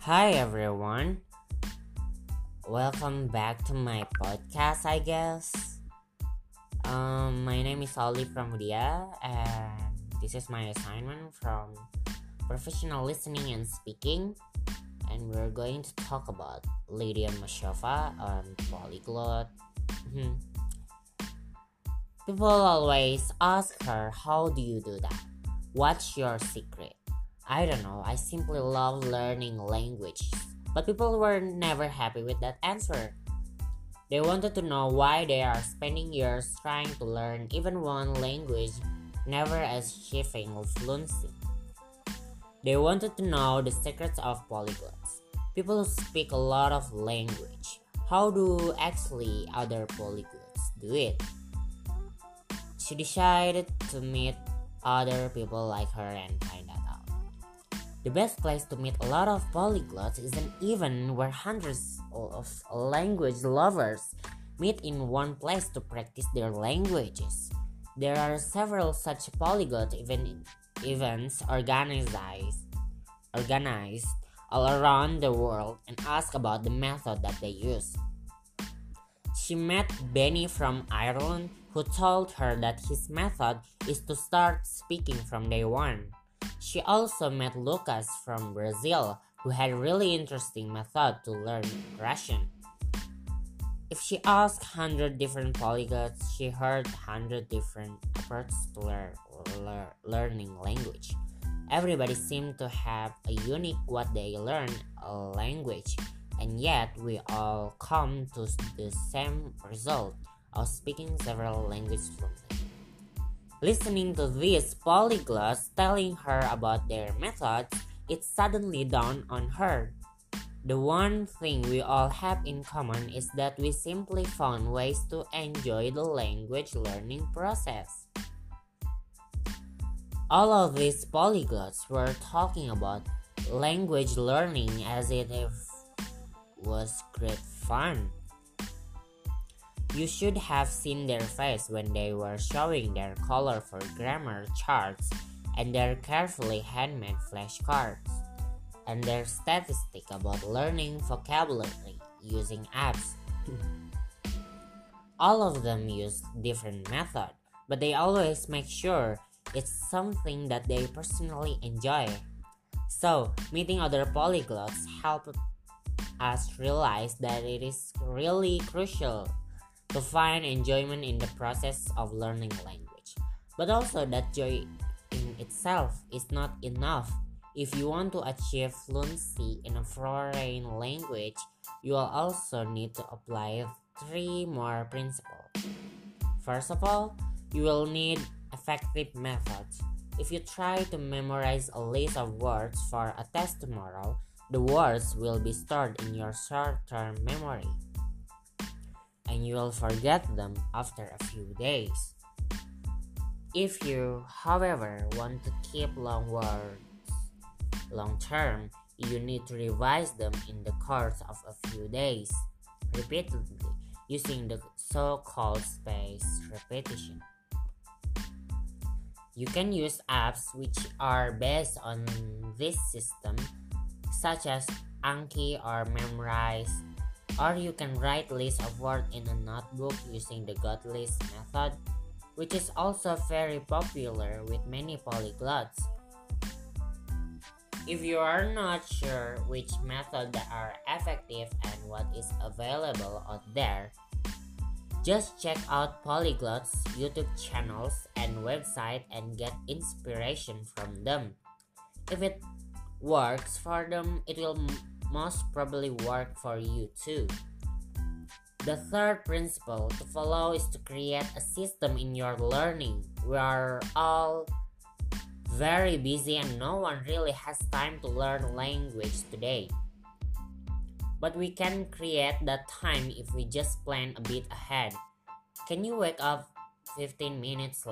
Hi everyone, welcome back to my podcast. I guess. My name is Oli from Udia, and this is my assignment from professional listening and speaking. And we're going to talk about Lydia Mashova on polyglot. Mhm. People always ask her, "How do you do that? What's your secret?" I don't know, I simply love learning languages. But people were never happy with that answer. They wanted to know why they are spending years trying to learn even one language, never achieving fluency. They wanted to know the secrets of polyglots. People who speak a lot of language. How do actually other polyglots do it? She decided to meet other people like her and find that out. The best place to meet a lot of polyglots isn't even where hundreds of language lovers meet in one place to practice their languages. There are several such polyglot events organized all around the world and ask about the method that they use. She met Benny from Ireland, who told her that his method is to start speaking from day one. She also met Lucas from Brazil, who had a really interesting method to learn Russian. If she asked 100 different polyglots, she heard 100 different approaches to learning language. Everybody seemed to have a unique what they learn a language, and yet we all come to the same result of speaking several languages fluently. Listening to these polyglots telling her about their methods, it suddenly dawned on her. The one thing we all have in common is that we simply found ways to enjoy the language learning process. All of these polyglots were talking about language learning as if it was great fun. You should have seen their face when they were showing their colorful grammar charts and their carefully handmade flashcards, and their statistic about learning vocabulary using apps. All of them use different methods, but they always make sure it's something that they personally enjoy. So, meeting other polyglots helped us realize that it is really crucial to find enjoyment in the process of learning language, but also that joy in itself is not enough. If you want to achieve fluency in a foreign language, you will also need to apply three more principles. First of all, you will need effective methods. If you try to memorize a list of words for a test tomorrow, the words will be stored in your short-term memory, and you will forget them after a few days. If you, however, want to keep long words long term, you need to revise them in the course of a few days, repeatedly, using the so-called spaced repetition. You can use apps which are based on this system, such as Anki or Memrise, or you can write lists of words in a notebook using the GotList method, which is also very popular with many polyglots. If you are not sure which methods are effective and what is available out there, just check out polyglots' YouTube channels and website and get inspiration from them. If it works for them, it will most probably work for you too. The third principle to follow is to create a system in your learning. We are all very busy and no one really has time to learn language today. But we can create that time if we just plan a bit ahead. Can you wake up 15 minutes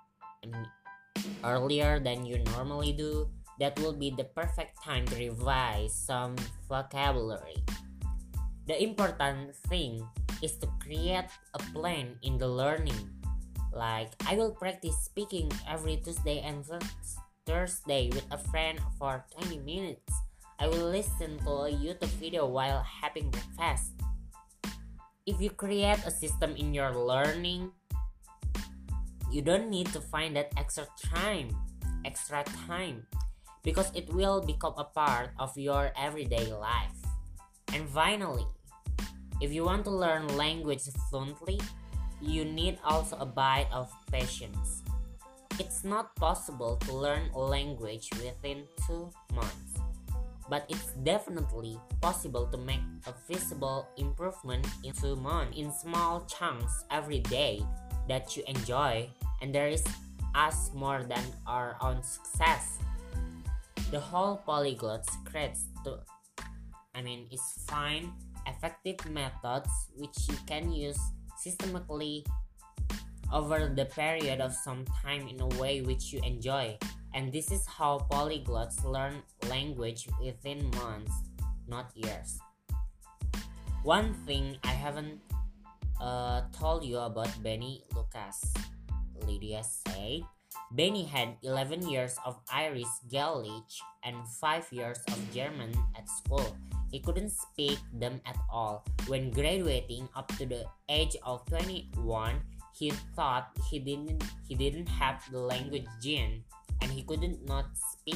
earlier than you normally do? That will be the perfect time to revise some vocabulary. The important thing is to create a plan in the learning. Like, I will practice speaking every Tuesday and Thursday with a friend for 20 minutes. I will listen to a YouTube video while having breakfast. If you create a system in your learning, you don't need to find that extra time, because it will become a part of your everyday life. And finally, if you want to learn language fluently, you need also a bit of patience. It's not possible to learn a language within 2 months, but it's definitely possible to make a visible improvement in 2 months in small chunks every day that you enjoy, and there is us more than our own success. The whole polyglot secrets is find effective methods which you can use systematically over the period of some time in a way which you enjoy. And this is how polyglots learn language within months, not years. One thing I haven't told you about Benny Lucas. Lydia said Benny had 11 years of Irish Gaelic and 5 years of German at school. He couldn't speak them at all. When graduating up to the age of 21, he thought he didn't have the language gene, and he could not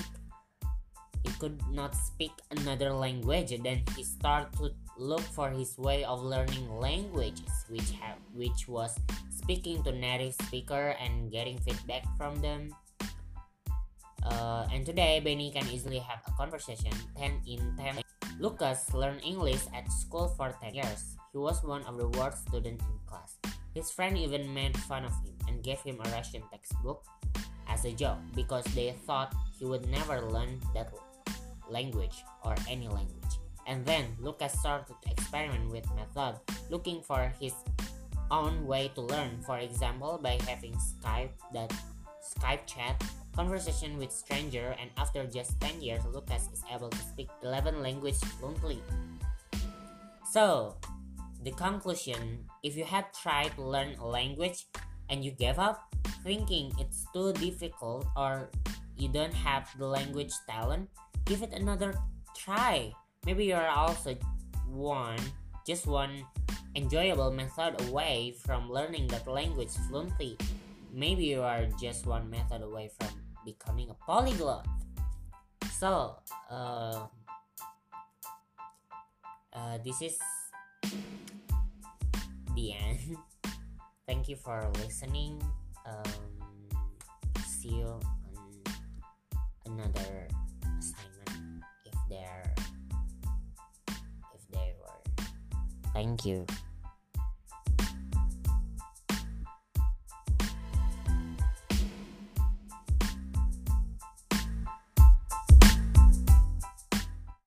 speak another language. Then he started to look for his way of learning languages, which was speaking to native speaker and getting feedback from them. And today, Benny can easily have a conversation 10 in 10. Lucas learned English at school for 10 years. He was one of the worst students in class. His friend even made fun of him and gave him a Russian textbook as a joke because they thought he would never learn that language or any language. And then Lucas started to experiment with method, looking for his own way to learn. For example, by having Skype chat conversation with stranger, and after just 10 years, Lucas is able to speak 11 languages fluently. So, the conclusion, if you have tried to learn a language and you gave up, thinking it's too difficult or you don't have the language talent, give it another try. Maybe you're also just one enjoyable method away from learning that language fluently. Maybe you are just one method away from becoming a polyglot. So, this is the end. Thank you for listening. See you on another assignment if there were. Thank you.